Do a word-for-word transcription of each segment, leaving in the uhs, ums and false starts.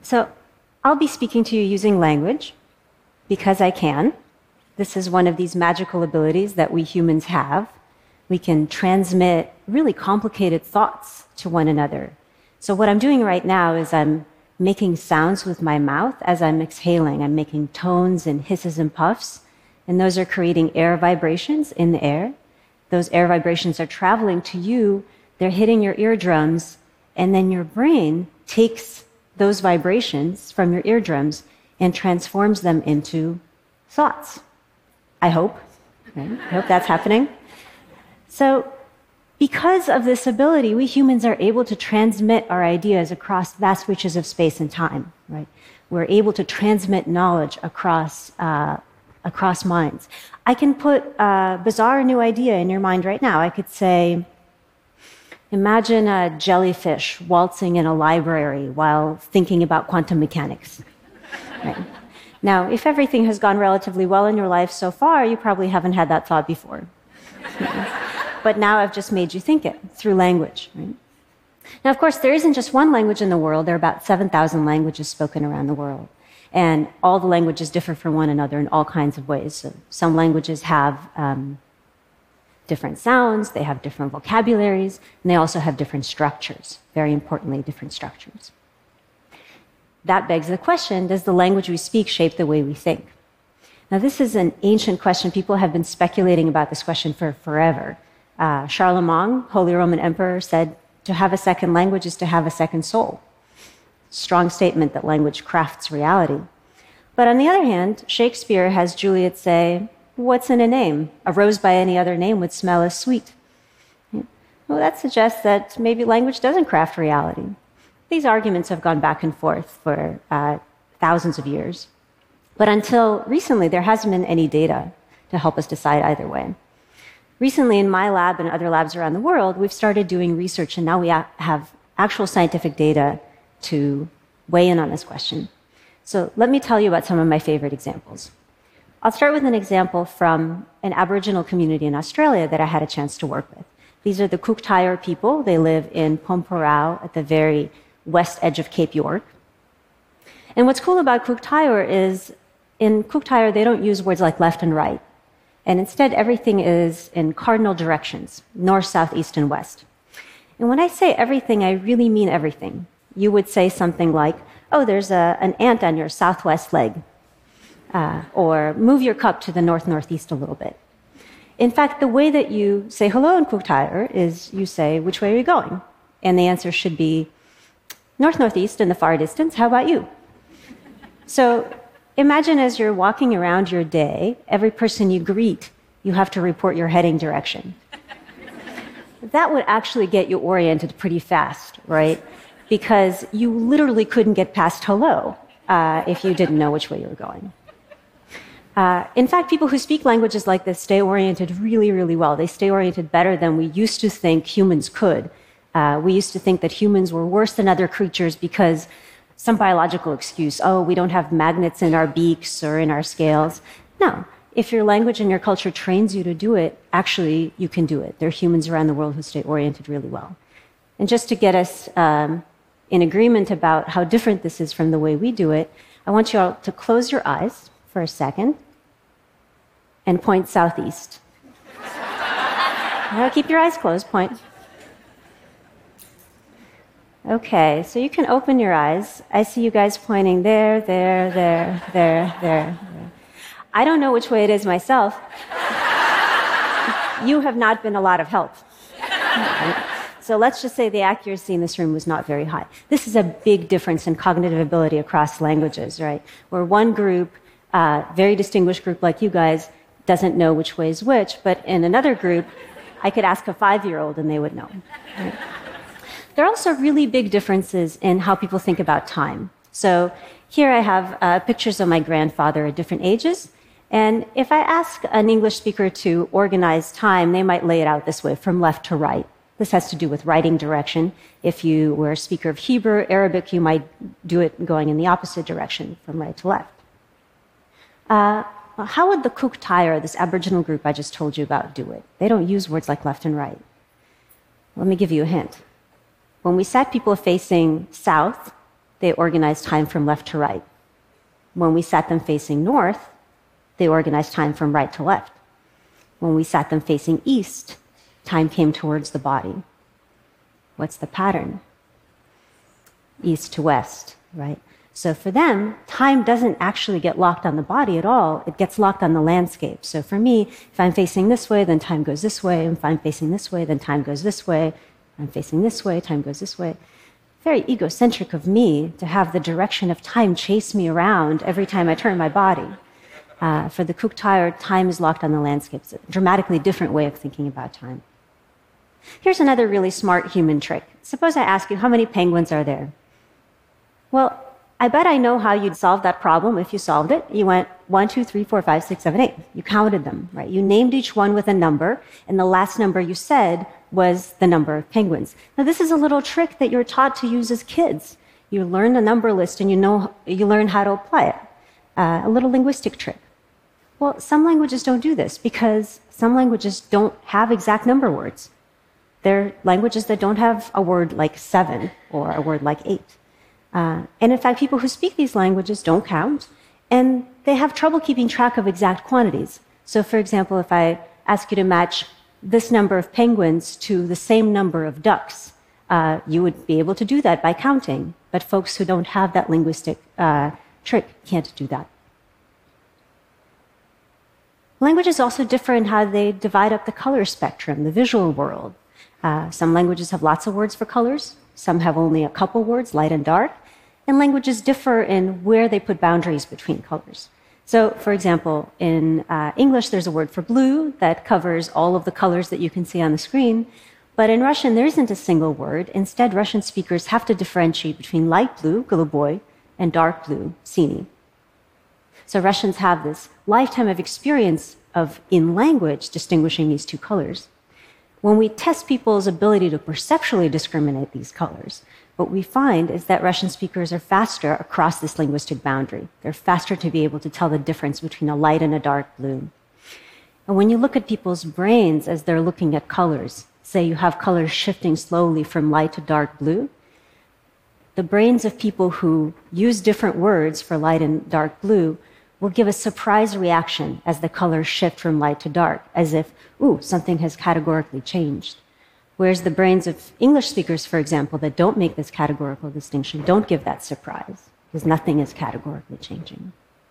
So I'll be speaking to you using language because I can. This is one of these magical abilities that we humans have. We can transmit really complicated thoughts to one another. So what I'm doing right now is I'm making sounds with my mouth as I'm exhaling. I'm making tones and hisses and puffs, and those are creating air vibrations in the air. Those air vibrations are traveling to you, they're hitting your eardrums, and then your brain takes those vibrations from your eardrums and transforms them into thoughts. I hope. Right? I hope that's happening. So, because of this ability, we humans are able to transmit our ideas across vast reaches of space and time. Right? We're able to transmit knowledge across uh, across minds. I can put a bizarre new idea in your mind right now. I could say, imagine a jellyfish waltzing in a library while thinking about quantum mechanics. Right? Now, if everything has gone relatively well in your life so far, you probably haven't had that thought before. But now I've just made you think it through language. Right? Now, of course, there isn't just one language in the world. There are about seven thousand languages spoken around the world. And all the languages differ from one another in all kinds of ways. So some languages have um, different sounds, they have different vocabularies, and they also have different structures. Very importantly, different structures. That begs the question, does the language we speak shape the way we think? Now, this is an ancient question. People have been speculating about this question for forever. Uh, Charlemagne, Holy Roman Emperor, said to have a second language is to have a second soul. Strong statement that language crafts reality. But on the other hand, Shakespeare has Juliet say, what's in a name? A rose by any other name would smell as sweet. Well, that suggests that maybe language doesn't craft reality. These arguments have gone back and forth for uh, thousands of years. But until recently, there hasn't been any data to help us decide either way. Recently, in my lab and other labs around the world, we've started doing research, and now we have actual scientific data to weigh in on this question. So let me tell you about some of my favorite examples. I'll start with an example from an Aboriginal community in Australia that I had a chance to work with. These are the Cook Thaayorre people. They live in Pormpuraaw at the very west edge of Cape York. And what's cool about Cook Thaayorre is in Cook Thaayorre, they don't use words like left and right. And instead, everything is in cardinal directions, north, south, east, and west. And when I say everything, I really mean everything. You would say something like, oh, there's a, an ant on your southwest leg. Uh, or move your cup to the north-northeast a little bit. In fact, the way that you say hello in Cook Thaayorre is you say, which way are you going? And the answer should be north-northeast in the far distance. How about you? So imagine as you're walking around your day, every person you greet, you have to report your heading direction. That would actually get you oriented pretty fast, right? Because you literally couldn't get past hello uh, if you didn't know which way you were going. Uh, in fact, people who speak languages like this stay oriented really, really well. They stay oriented better than we used to think humans could. Uh, we used to think that humans were worse than other creatures because some biological excuse, oh, we don't have magnets in our beaks or in our scales. No, if your language and your culture trains you to do it, actually, you can do it. There are humans around the world who stay oriented really well. And just to get us um, in agreement about how different this is from the way we do it, I want you all to close your eyes for a second and point southeast. Now keep your eyes closed, point. Okay, so you can open your eyes. I see you guys pointing there, there, there, there, there, there. I don't know which way it is myself. You have not been a lot of help. So let's just say the accuracy in this room was not very high. This is a big difference in cognitive ability across languages, right? Where one group, a uh, very distinguished group like you guys, doesn't know which way is which, but in another group, I could ask a five-year-old and they would know. Right? There are also really big differences in how people think about time. So here I have uh, pictures of my grandfather at different ages. And if I ask an English speaker to organize time, they might lay it out this way, from left to right. This has to do with writing direction. If you were a speaker of Hebrew, Arabic, you might do it going in the opposite direction, from right to left. Uh, how would the Cook Thaayorre, this Aboriginal group I just told you about, do it? They don't use words like left and right. Let me give you a hint. When we sat people facing south, they organized time from left to right. When we sat them facing north, they organized time from right to left. When we sat them facing east, time came towards the body. What's the pattern? East to west, right? So for them, time doesn't actually get locked on the body at all. It gets locked on the landscape. So for me, if I'm facing this way, then time goes this way. If I'm facing this way, then time goes this way. If I'm facing this way, time goes this way. Very egocentric of me to have the direction of time chase me around every time I turn my body. Uh, for the Kuuk-Thaayorre, time is locked on the landscape. It's a dramatically different way of thinking about time. Here's another really smart human trick. Suppose I ask you, how many penguins are there? Well, I bet I know how you'd solve that problem if you solved it. You went one, two, three, four, five, six, seven, eight. You counted them, right? You named each one with a number, and the last number you said was the number of penguins. Now, this is a little trick that you're taught to use as kids. You learn a number list, and you know you learn how to apply it. Uh, a little linguistic trick. Well, some languages don't do this because some languages don't have exact number words. They're languages that don't have a word like seven or a word like eight. Uh, and in fact, people who speak these languages don't count, and they have trouble keeping track of exact quantities. So, for example, if I ask you to match this number of penguins to the same number of ducks, uh, you would be able to do that by counting. But folks who don't have that linguistic uh, trick can't do that. Languages also differ in how they divide up the color spectrum, the visual world. Uh, some languages have lots of words for colors. Some have only a couple words, light and dark. And languages differ in where they put boundaries between colors. So, for example, in uh, English, there's a word for blue that covers all of the colors that you can see on the screen. But in Russian, there isn't a single word. Instead, Russian speakers have to differentiate between light blue, голубой, and dark blue, синий. So Russians have this lifetime of experience of, in language, distinguishing these two colors. When we test people's ability to perceptually discriminate these colors, what we find is that Russian speakers are faster across this linguistic boundary. They're faster to be able to tell the difference between a light and a dark blue. And when you look at people's brains as they're looking at colors, say you have colors shifting slowly from light to dark blue, the brains of people who use different words for light and dark blue will give a surprise reaction as the colors shift from light to dark, as if, ooh, something has categorically changed. Whereas the brains of English speakers, for example, that don't make this categorical distinction, don't give that surprise, because nothing is categorically changing.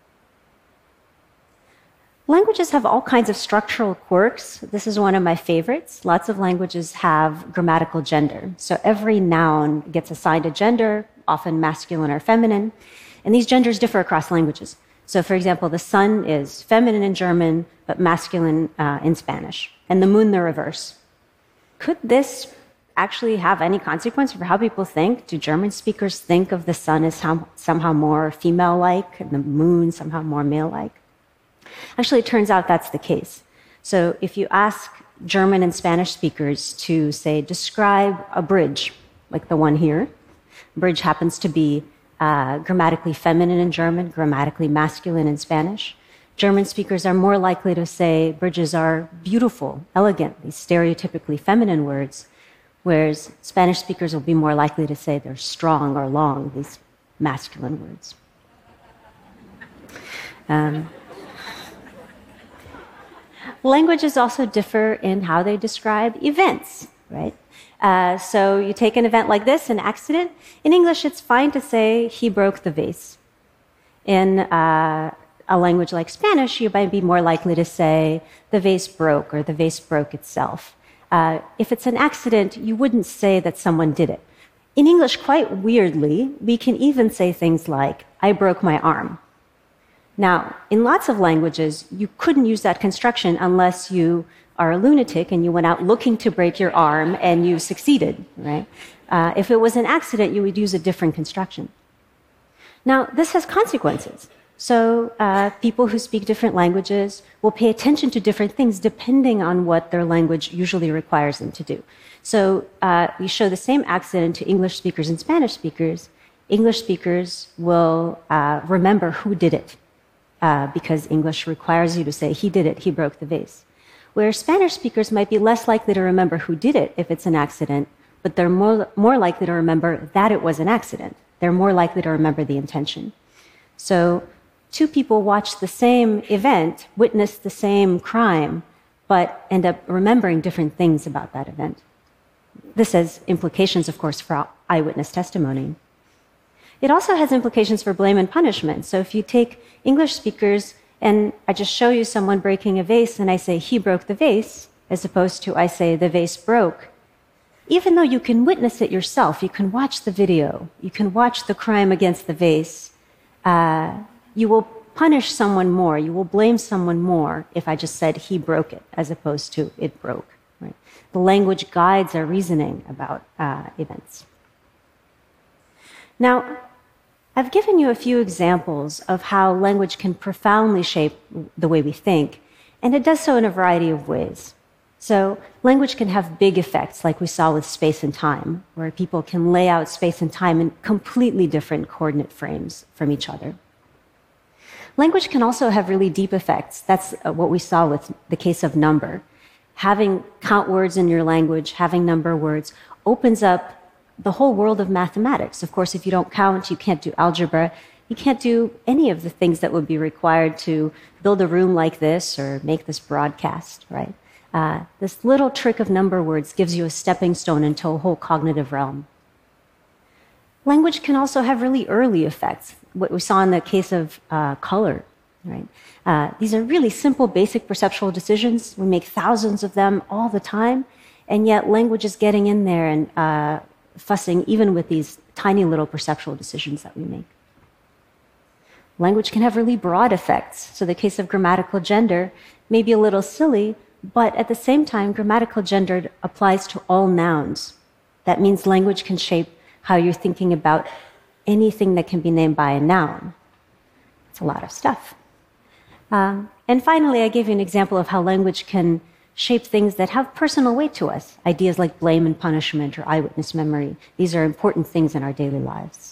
Languages have all kinds of structural quirks. This is one of my favorites. Lots of languages have grammatical gender. So every noun gets assigned a gender, often masculine or feminine, and these genders differ across languages. So, for example, the sun is feminine in German, but masculine uh, in Spanish, and the moon the reverse. Could this actually have any consequence for how people think? Do German speakers think of the sun as somehow more female-like and the moon somehow more male-like? Actually, it turns out that's the case. So if you ask German and Spanish speakers to, say, describe a bridge, like the one here, bridge happens to be uh, grammatically feminine in German, grammatically masculine in Spanish. German speakers are more likely to say bridges are beautiful, elegant, these stereotypically feminine words, whereas Spanish speakers will be more likely to say they're strong or long, these masculine words. Um, languages also differ in how they describe events, right? Uh, so you take an event like this, an accident. In English, it's fine to say, he broke the vase. In uh, a language like Spanish, you might be more likely to say, the vase broke, or the vase broke itself. Uh, if it's an accident, you wouldn't say that someone did it. In English, quite weirdly, we can even say things like, I broke my arm. Now, in lots of languages, you couldn't use that construction unless you are a lunatic and you went out looking to break your arm and you succeeded, right? Uh, if it was an accident, you would use a different construction. Now, this has consequences. So uh, people who speak different languages will pay attention to different things depending on what their language usually requires them to do. So uh, we show the same accident to English speakers and Spanish speakers. English speakers will uh, remember who did it, uh, because English requires you to say, he did it, he broke the vase. Where Spanish speakers might be less likely to remember who did it if it's an accident, but they're more, more likely to remember that it was an accident. they're more likely to remember the intention. So two people watch the same event, witness the same crime, but end up remembering different things about that event. This has implications, of course, for eyewitness testimony. It also has implications for blame and punishment. So if you take English speakers and I just show you someone breaking a vase and I say, he broke the vase, as opposed to I say, the vase broke, even though you can witness it yourself, you can watch the video, you can watch the crime against the vase, uh, you will punish someone more, you will blame someone more if I just said he broke it, as opposed to it broke. Right? The language guides our reasoning about uh, events. Now, I've given you a few examples of how language can profoundly shape the way we think, and it does so in a variety of ways. So language can have big effects, like we saw with space and time, where people can lay out space and time in completely different coordinate frames from each other. Language can also have really deep effects. That's what we saw with the case of number. Having count words in your language, having number words, opens up the whole world of mathematics. Of course, if you don't count, you can't do algebra. You can't do any of the things that would be required to build a room like this or make this broadcast, right? Uh, this little trick of number words gives you a stepping stone into a whole cognitive realm. Language can also have really early effects, what we saw in the case of uh, color, right? Uh, these are really simple, basic perceptual decisions. We make thousands of them all the time, and yet language is getting in there and uh, fussing even with these tiny little perceptual decisions that we make. Language can have really broad effects. So the case of grammatical gender may be a little silly, but at the same time, grammatical gender applies to all nouns. That means language can shape how you're thinking about anything that can be named by a noun. It's a lot of stuff. Um, and finally, I gave you an example of how language can shape things that have personal weight to us. Ideas like blame and punishment or eyewitness memory. These are important things in our daily lives.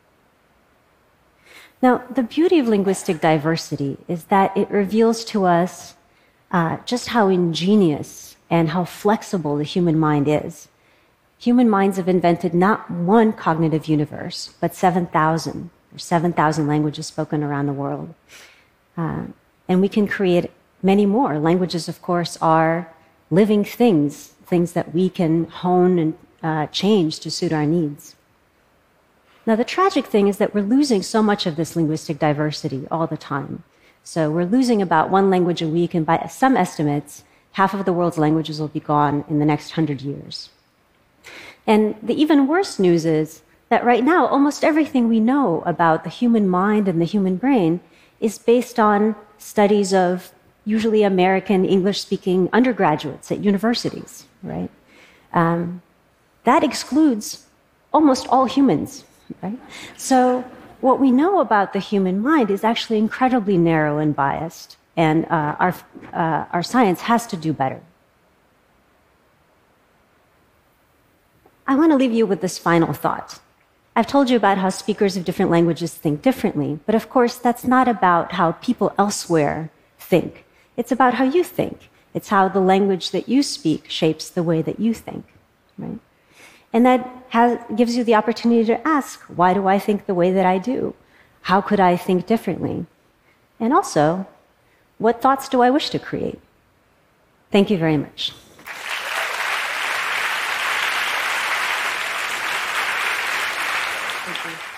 Now, the beauty of linguistic diversity is that it reveals to us uh, just how ingenious and how flexible the human mind is. Human minds have invented not one cognitive universe, but seven thousand, or seven thousand languages spoken around the world. Uh, and we can create many more. Languages, of course, are living things, things that we can hone and uh, change to suit our needs. Now, the tragic thing is that we're losing so much of this linguistic diversity all the time. So we're losing about one language a week, and by some estimates, half of the world's languages will be gone in the next hundred years. And the even worse news is that right now, almost everything we know about the human mind and the human brain is based on studies of usually American English-speaking undergraduates at universities, right? Um, that excludes almost all humans, right? So what we know about the human mind is actually incredibly narrow and biased, and uh, our, uh, our science has to do better. I want to leave you with this final thought. I've told you about how speakers of different languages think differently, but of course that's not about how people elsewhere think. It's about how you think. It's how the language that you speak shapes the way that you think, right? And that has, gives you the opportunity to ask, why do I think the way that I do? How could I think differently? And also, what thoughts do I wish to create? Thank you very much. Thank you.